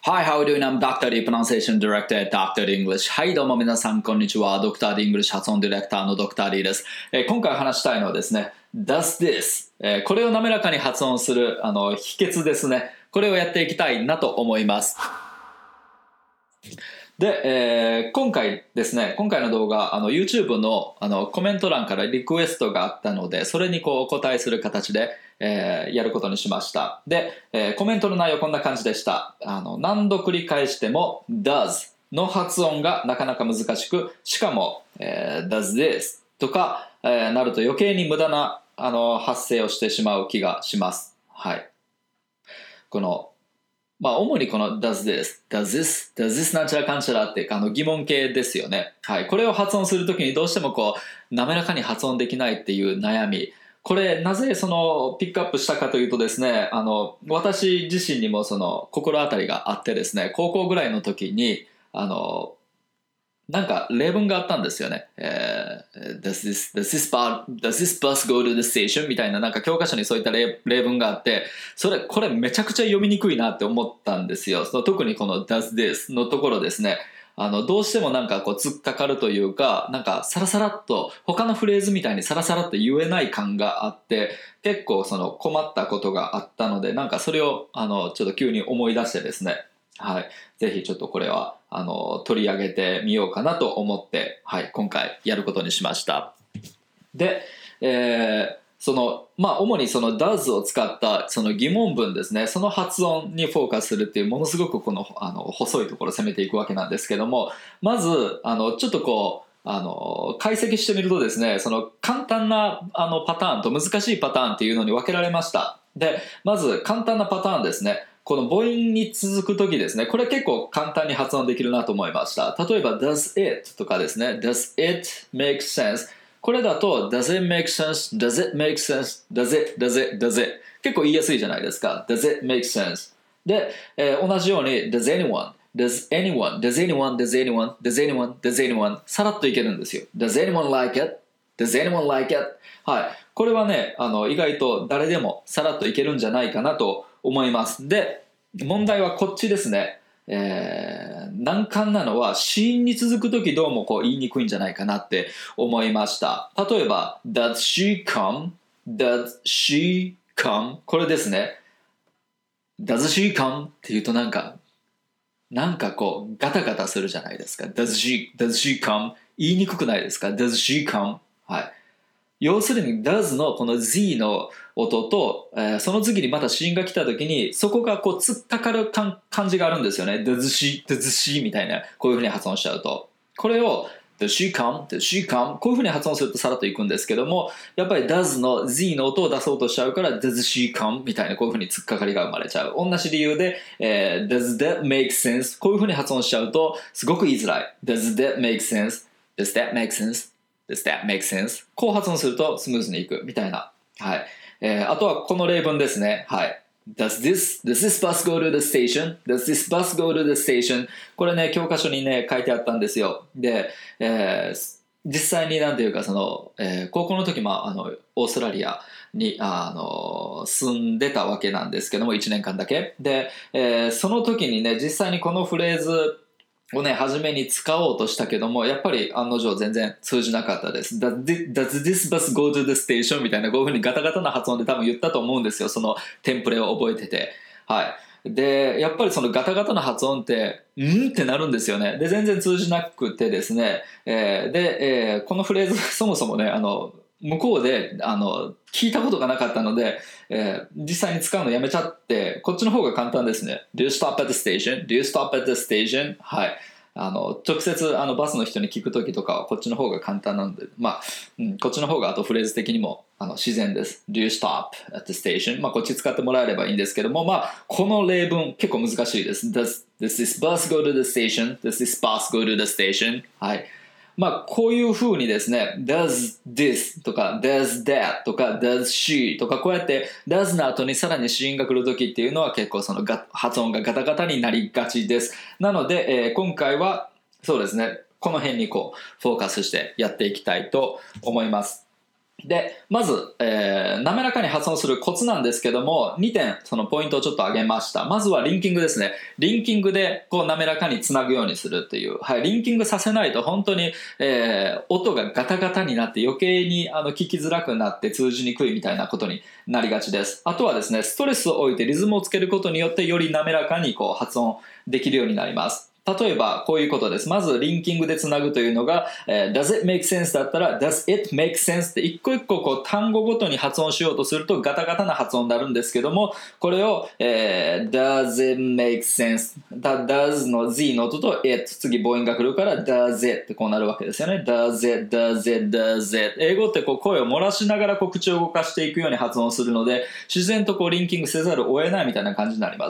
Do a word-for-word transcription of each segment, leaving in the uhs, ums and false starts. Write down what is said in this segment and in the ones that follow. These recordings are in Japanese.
Hi, how are you doing? I'm ドクター D Pronunciation Director at ドクター D English. はい、どうも皆さん、こんにちは。ドクター D English 発音ディレクターの ドクター D です。えー、今回話したいのはですね、Does this、えー、これを滑らかに発音するあの秘訣ですね。これをやっていきたいなと思います。で、えー、今回ですね、今回の動画、あの YouTube の, あのコメント欄からリクエストがあったので、それにこうお答えする形で、えー、やることにしました。で、えー、コメントの内容こんな感じでした。あの何度繰り返しても does の発音がなかなか難しく、しかも、えー、does this とか、えー、なると余計に無駄なあの発声をしてしまう気がします。はい。このまあ、主にこの does this, does this, does this なんちゃらかんちゃらってあの疑問形ですよね。はい。これを発音するときにどうしてもこう滑らかに発音できないっていう悩み。これなぜそのピックアップしたかというとですね、あの私自身にもその心当たりがあってですね、高校ぐらいの時にあのなんか例文があったんですよね。えー、does this, does this bus, does this bus go to the station? みたいななんか教科書にそういった 例, 例文があって、それ、これめちゃくちゃ読みにくいなって思ったんですよ。その特にこの does this のところですね。あの、どうしてもなんかこう突っかかるというか、なんかサラサラっと、他のフレーズみたいにサラサラっと言えない感があって、結構その困ったことがあったので、なんかそれをあの、ちょっと急に思い出してですね。はい。ぜひちょっとこれは、あの、取り上げてみようかなと思って、はい、今回やることにしました。で、えー、その、まあ、主にその does を使ったその疑問文ですね、その発音にフォーカスするっていう、ものすごくこの、あの、細いところを攻めていくわけなんですけども、まず、あの、ちょっとこう、あの、解析してみるとですね、その簡単なあのパターンと難しいパターンっていうのに分けられました。で、まず簡単なパターンですね。この母音に続くときですね、これ結構簡単に発音できるなと思いました。例えば does it とかですね、does it make sense、 これだと does it make sense, does it make sense, does it, does it, does it 結構言いやすいじゃないですか。 does it make sense で、えー、同じように does anyone, does anyone, does anyone, does anyone, does anyone, does anyone さらっといけるんですよ。 does anyone like it, does anyone like it、 はい、これはね、あの意外と誰でもさらっといけるんじゃないかなと思います。で、問題はこっちですね。えー、難関なのは子音に続くときどうもこう言いにくいんじゃないかなって思いました。例えば Does she come? Does she come? これですね。Does she come? って言うとなんかなんかこうガタガタするじゃないですか。Does she, does she come? 言いにくくないですか？ Does she come? はい。要するに does のこの z の音と、えー、その次にまた子音が来た時にそこがこう突っかかる感じがあるんですよね。does she, does she みたいな、こういう風に発音しちゃうと、これを does she come, does she come こういう風に発音するとさらっといくんですけども、やっぱり does の z の音を出そうとしちゃうから does she come みたいな、こういう風に突っかかりが生まれちゃう。同じ理由で、えー、does that make sense こういう風に発音しちゃうとすごく言いづらい。does that make sense, does that make sense Does that make sense? こう発音するとスムーズにいくみたいな。はい。えー、あとはこの例文ですね。はい。Does this, does this bus go to the station? Does this bus go to the station? これね、教科書にね、書いてあったんですよ。で、えー、実際になんていうか、その、えー、高校の時も、あの、オーストラリアに、あの、住んでたわけなんですけども、いちねんかんだけ。で、えー、その時にね、実際にこのフレーズ、をね、初めに使おうとしたけども、やっぱり案の定全然通じなかったです。Does this bus go to the station? みたいな、こういう風にガタガタな発音で多分言ったと思うんですよ。そのテンプレを覚えてて。はい。で、やっぱりそのガタガタな発音って、んってなるんですよね。で、全然通じなくてですね。えー、で、えー、このフレーズ、そもそもね、あの、向こうで、あの、聞いたことがなかったので、えー、実際に使うのやめちゃって、こっちの方が簡単ですね。Do you stop at the station? Do you stop at the station? はい。あの、直接、あの、バスの人に聞くときとかは、こっちの方が簡単なので、まあ、うん、こっちの方が、あとフレーズ的にも、あの、自然です。Do you stop at the station? まあ、こっち使ってもらえればいいんですけども、まあ、この例文、結構難しいです。Does, does this bus go to the station? Does this bus go to the station? はい。まあ、こういう風にですね、does this とか does that とか does she とか、こうやって does の後にさらに子音が来るときっていうのは結構そのが発音がガタガタになりがちです。なので、えー、今回はそうですね、この辺にこうフォーカスしてやっていきたいと思います。 で、まず、えー、滑らかに発音するコツなんですけども、にてんそのポイントをちょっと挙げました。まずはリンキングですね。リンキングでこう滑らかにつなぐようにするっていう。はい、リンキングさせないと本当に、えー、音がガタガタになって余計にあの聞きづらくなって通じにくいみたいなことになりがちです。あとはですね、ストレスを置いてリズムをつけることによってより滑らかにこう発音できるようになります。例えばこういうことです。まずリンキングでつなぐというのが、えー、Does it make sense だったら Does it make sense って一個一個こう単語ごとに発音しようとするとガタガタな発音になるんですけども、これを、えー、Does it make sense Does の Z の音と it 次母音が来るから Does it ってこうなるわけですよね。Does it Does it Does it 英語ってこう声を漏らしながらこう口を動かしていくように発音するので自然とこうリンキングせざるを得ないみたいな感じになります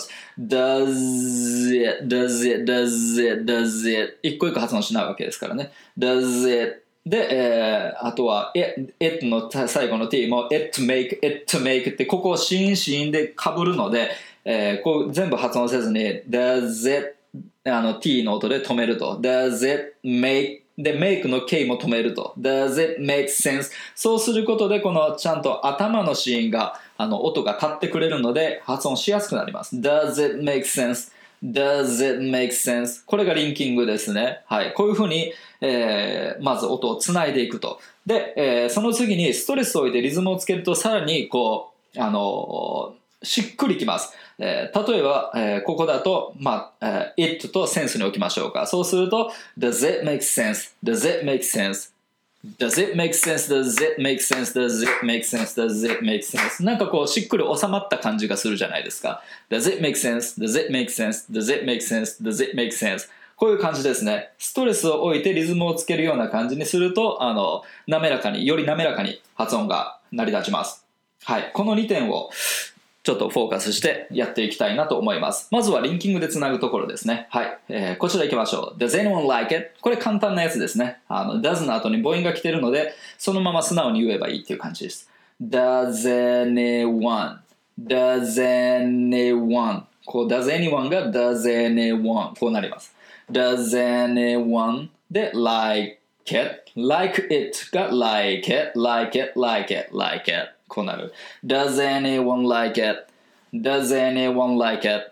。Does it Does it Does it does it 一個一個発音しないわけですからね。does it で、えー、あとは it, it の最後の t も it make it make ってここをシーンシーンで被るので、えー、こう全部発音せずに does it あの t の音で止めると does it make で make の k も止めると does it make sense そうすることでこのちゃんと頭のシーンがあの音が立ってくれるので発音しやすくなります。 does it make sense Does it make sense? これがリンキングですね。はい。こういうふうに、えー、まず音をつないでいくと。で、えー、その次にストレスを置いてリズムをつけるとさらにこう、あのー、しっくりきます。えー、例えば、えー、ここだと、まあ、えー、it とセンスに置きましょうか。そうすると、Does it make sense? Does it make sense?Does it make sense? Does it make sense? Does it make sense? Does it make sense? なんかこうしっくり収まった感じがするじゃないですか。Does it make sense? Does it make sense? Does it make sense? Does it make sense? こういう感じですね。ストレスを置いてリズムをつけるような感じにすると、あの、滑らかに、より滑らかに発音が成り立ちます。はい。このにてんをちょっとフォーカスしてやっていきたいなと思います。まずはリンキングでつなぐところですね。はい。えー、こちら行きましょう。Does anyone like it? これ簡単なやつですね。あの、does の後に母音が来てるので、そのまま素直に言えばいいっていう感じです。Does anyone? Does anyone? こう、Does anyone が Does anyone? こうなります。Does anyone? で、like it.Like it が like it, like it, like it, like it. こうなる。Does anyone like it? Does anyone like it?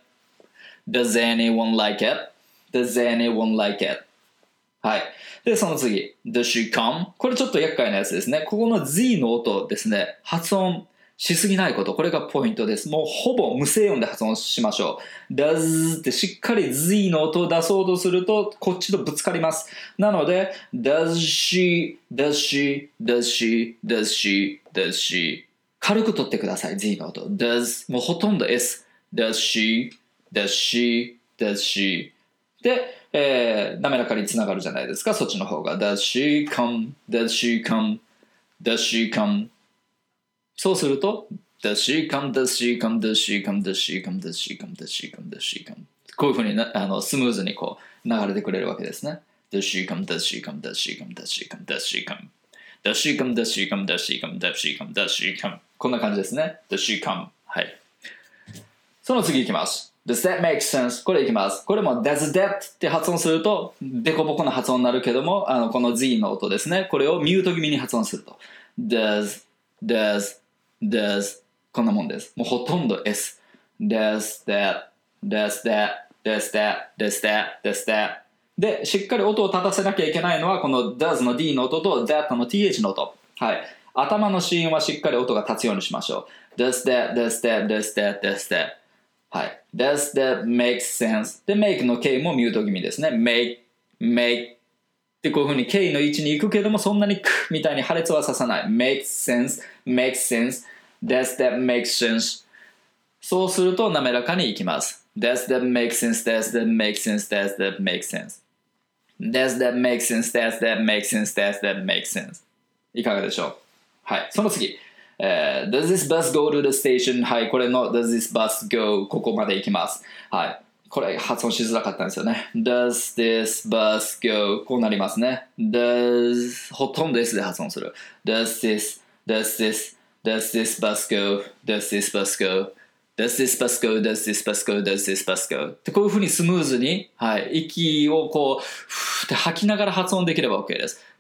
Does anyone like it? Does anyone like it? はい。で、その次。Does she come? これちょっと厄介なやつですね。ここの Z の音ですね。発音しすぎないこと。これがポイントです。もうほぼ無声音で発音しましょう。Does ってしっかり Z の音を出そうとすると、こっちとぶつかります。なので、Does she, does she, does she, does she, does she 軽く取ってください、Z の音。Does もうほとんど S。Does she, does she, does she で、えー、滑らかにつながるじゃないですか、そっちの方が。Does she come, does she come, does she come そうすると Does she come, does she come, does she come, does she come, does she come, does she come, does she come こういうふうになあのスムーズにこう流れてくれるわけですね。Does she come, does she come, does she come, does she come, does she come Does she come, does she come, does she come, does she come, does she come こんな感じですね。Does she come はい。その次いきます。Does that make sense? これいきます。これも Does that って発音するとデコボコな発音になるけども、あのこの Z の音ですね。これをミュート気味に発音すると Does, does, does こんなもんです。もうほとんど S Does that, does that, does that, does that, does that で、しっかり音を立たせなきゃいけないのはこの Does の D の音と That の ティーエイチ の音。はい。頭の子音はしっかり音が立つようにしましょう。Does that, does that, does that, does that はい。Does that make sense? で、make の K もミュート気味ですね。make, make で、こういう風に K の位置に行くけども、そんなにクみたいに破裂はささない。make sense, make sense, does that make sense? そうすると滑らかにいきます。Does that make sense? Does that make sense? Does that make sense? Does that make sense? Does that make sense? Does that make sense? いかがでしょう？はい。その次。Uh, does this bus go to the station? はい、これの Does this bus go? ここまで行きます。はい。これ発音しづらかったんですよね。Does this bus go? こうなりますね。Does ほとんど S で発音する。Does this, does this, does this bus go? Does this bus go? Does this bus go? Does this bus go? Does this bus go? ってこういうふうにスムーズに、はい、息をこうふーって吐きながら発音できれば OK です。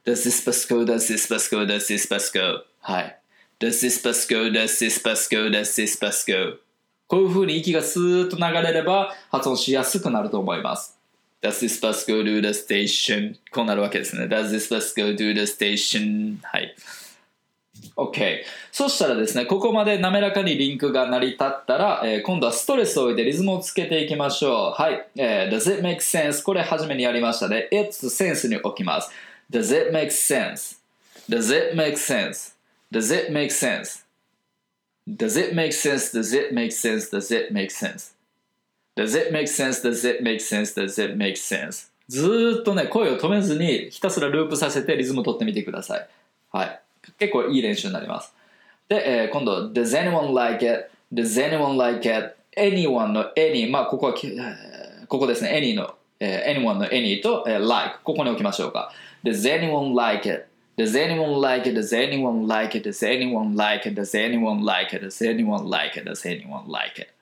Does this bus go? Does this bus go? Does this bus go? はい。Does this bus go? Does this bus go? Does this bus go? こういう風に息がスーッと流れれば発音しやすくなると思います。Does this bus go to the station? こうなるわけですね。Does this bus go to the station? はい。OK。そしたらですね、ここまで滑らかにリンクが成り立ったら、えー、今度はストレスを置いてリズムをつけていきましょう。はい。えー、Does it make sense? これ初めにやりましたね。It's センスに置きます。Does it make sense? Does it make sense? Does it make sense? Does it make sense? Does it make sense? Does it make sense? Does it make sense? Does it make sense? Does it make sense? ずーっとね、声を止めずにひたすらループさせてリズムを取ってみてください。はい。結構いい練習になります。で、えー、今度 Does anyone like it? Does anyone like it? Anyone の any まあここはここですね any の、えー、anyone の any と、えー、like ここに置きましょうか。Does anyone like it? Does anyone like it? Does anyone like it? Does anyone like it? Does anyone like it? Does anyone like it? Does anyone like it?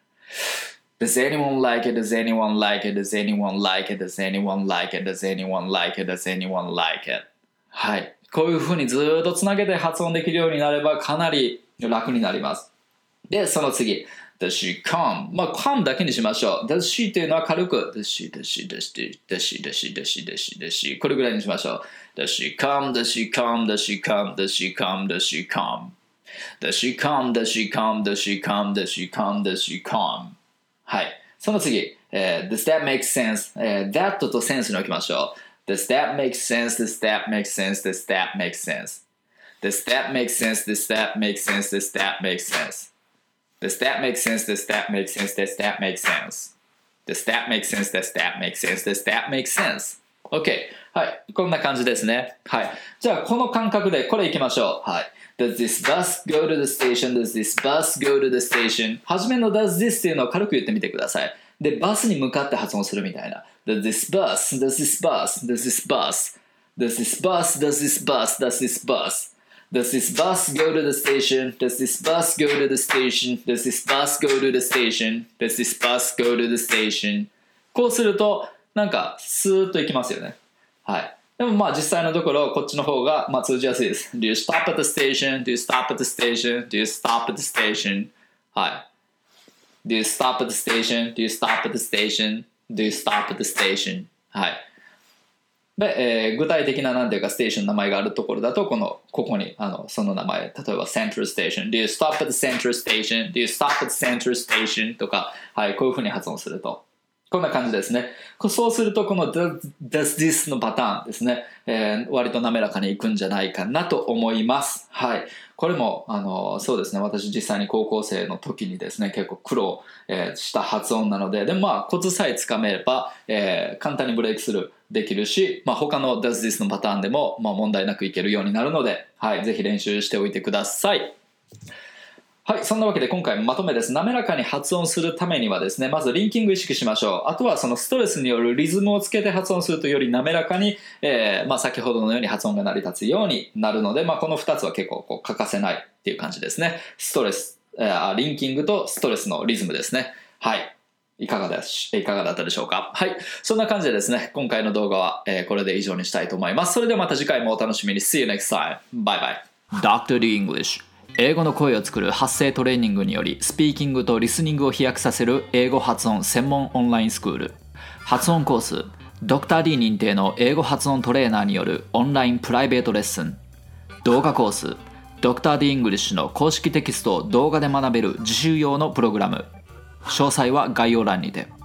Does anyone like it? Does anyone like it? Does anyone like it? Does anyone like it? Does anyone like it? Does anyone like it? はい。こういう風にずっとつなげて発音できるようになればかなり楽になります。で、その次。Does she come? まあ、come だけにしましょう。Does she というのは軽く Does she, does she, does she, does she, does she, does she, does she, does she これぐらいにしましょう。Does she come? Does she come? Does she come? Does she come? Does she come? Does she come? Does she come? Does she come? Does she come? Does she come? はい。その次。えー、Does that make sense? えー、that と sense に置きましょう。Does that make sense? Does that make sense? Does that make sense? Does that make sense? Does that make sense? Does that make sense? Does that make sense? Does that make sense? Does that make sense? Does that make sense? Does that make sense? Does that make sense? OK。はい。こんな感じですね。はい。じゃあ、この感覚でこれいきましょう。はい。Does this bus go to the station? Does this bus go to the station? はじめの does this っていうのを軽く言ってみてください。で、バスに向かって発音するみたいな。Does this bus? Does this bus? Does this bus? Does this bus? Does this bus? Does this bus? Does this bus go to the station? Does this bus go to the station? Does this bus go to the station? Does this bus go to the station? こうするとなんかスーッといきますよね。はい。でもまあ実際のところこっちの方がまあ通じやすいです。Do you stop at the station? Do you stop at the station? Do you stop at the station? はい。Do you stop at the station? Do you stop at the station? Do you stop at the station? はい。で、えー、具体的な何ていうかステーションの名前があるところだとこのここにあのその名前例えば Central Station Do you stop at the Central Station Do you stop at the Central Station とか、はい、こういうふうに発音するとこんな感じですね。そうするとこの Does this のパターンですね、えー、割と滑らかにいくんじゃないかなと思います。はい。これもあのそうですね私実際に高校生の時にですね結構苦労、えー、した発音なのででもまあコツさえつかめれば、えー、簡単にブレイクスルーできるし、まあ、他の Does this のパターンでも、まあ、問題なくいけるようになるので、はい、ぜひ練習しておいてください。はい、そんなわけで今回まとめです。滑らかに発音するためにはですねまずリンキング意識しましょう。あとはそのストレスによるリズムをつけて発音するとより滑らかに、えーまあ、先ほどのように発音が成り立つようになるので、まあ、このふたつは結構こう欠かせないっていう感じですね。ストレス、えー、リンキングとストレスのリズムですね。はいいかがだし、いかがだったでしょうか。はい。そんな感じでですね、今回の動画は、えー、これで以上にしたいと思います。それではまた次回もお楽しみに。See you next time. Bye bye. ドクター D English。英語の声を作る発声トレーニングにより、スピーキングとリスニングを飛躍させる英語発音専門オンラインスクール。発音コース、ドクター D 認定の英語発音トレーナーによるオンラインプライベートレッスン。動画コース、ドクター D イングリッシュの公式テキストを動画で学べる自習用のプログラム。詳細は概要欄にて。